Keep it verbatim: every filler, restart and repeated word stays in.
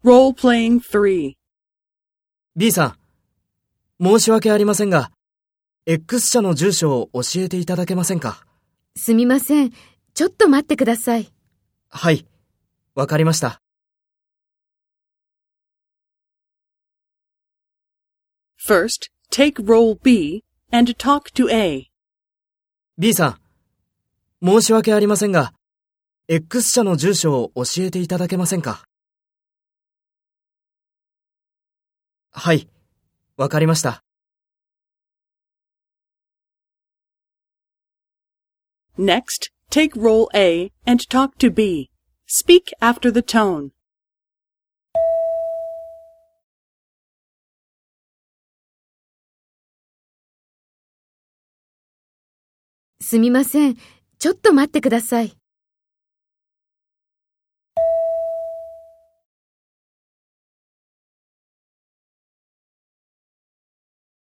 Role-playing three. B さん、申し訳ありませんが、X 社の住所を教えていただけませんか？ すみません。ちょっと待ってください。 はい、わかりました。 First, take role B and talk to A. B さん、申し訳ありませんが、X 社の住所を教えていただけませんか？はい、わかりました。 Next, take role A and talk to B. Speak after the tone. すみません。ちょっと待ってください。